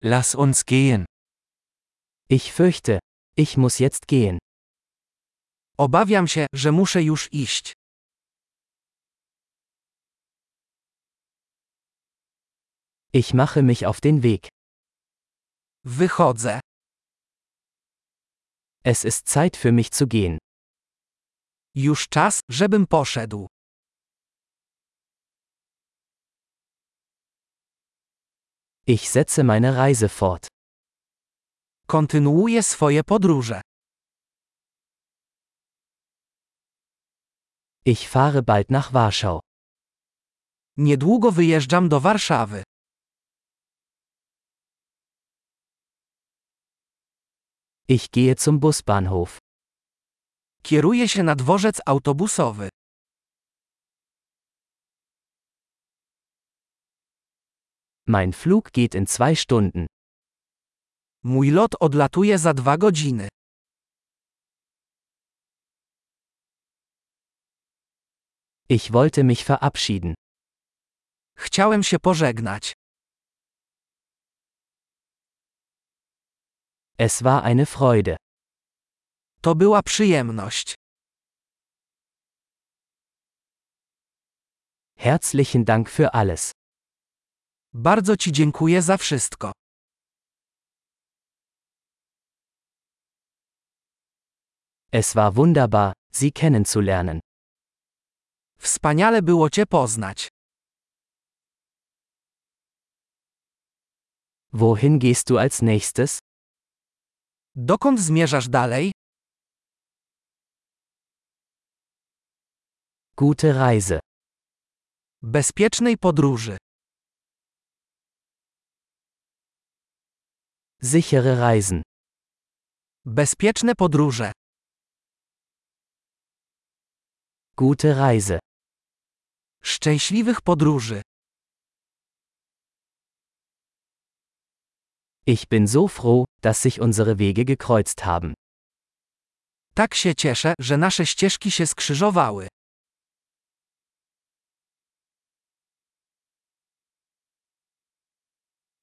Lass uns gehen. Ich fürchte, ich muss jetzt gehen. Obawiam się, że muszę już iść. Ich mache mich auf den Weg. Wychodzę. Es ist Zeit für mich zu gehen. Już czas, żebym poszedł. Ich setze meine Reise fort. Kontynuuję swoje podróże. Ich fahre bald nach Warschau. Niedługo wyjeżdżam do Warszawy. Ich gehe zum Busbahnhof. Kieruję się na dworzec autobusowy. Mein Flug geht in 2 Stunden. Mój lot odlatuje za 2 godziny. Ich wollte mich verabschieden. Chciałem się pożegnać. Es war eine Freude. To była przyjemność. Herzlichen Dank für alles. Bardzo Ci dziękuję za wszystko. Es war wunderbar, Sie kennenzulernen. Wspaniale było Cię poznać. Wohin gehst du als nächstes? Dokąd zmierzasz dalej? Gute Reise. Bezpiecznej podróży. Sichere Reisen. Bezpieczne podróże. Gute Reise. Szczęśliwych podróży. Ich bin so froh, dass sich unsere Wege gekreuzt haben. Tak się cieszę, że nasze ścieżki się skrzyżowały.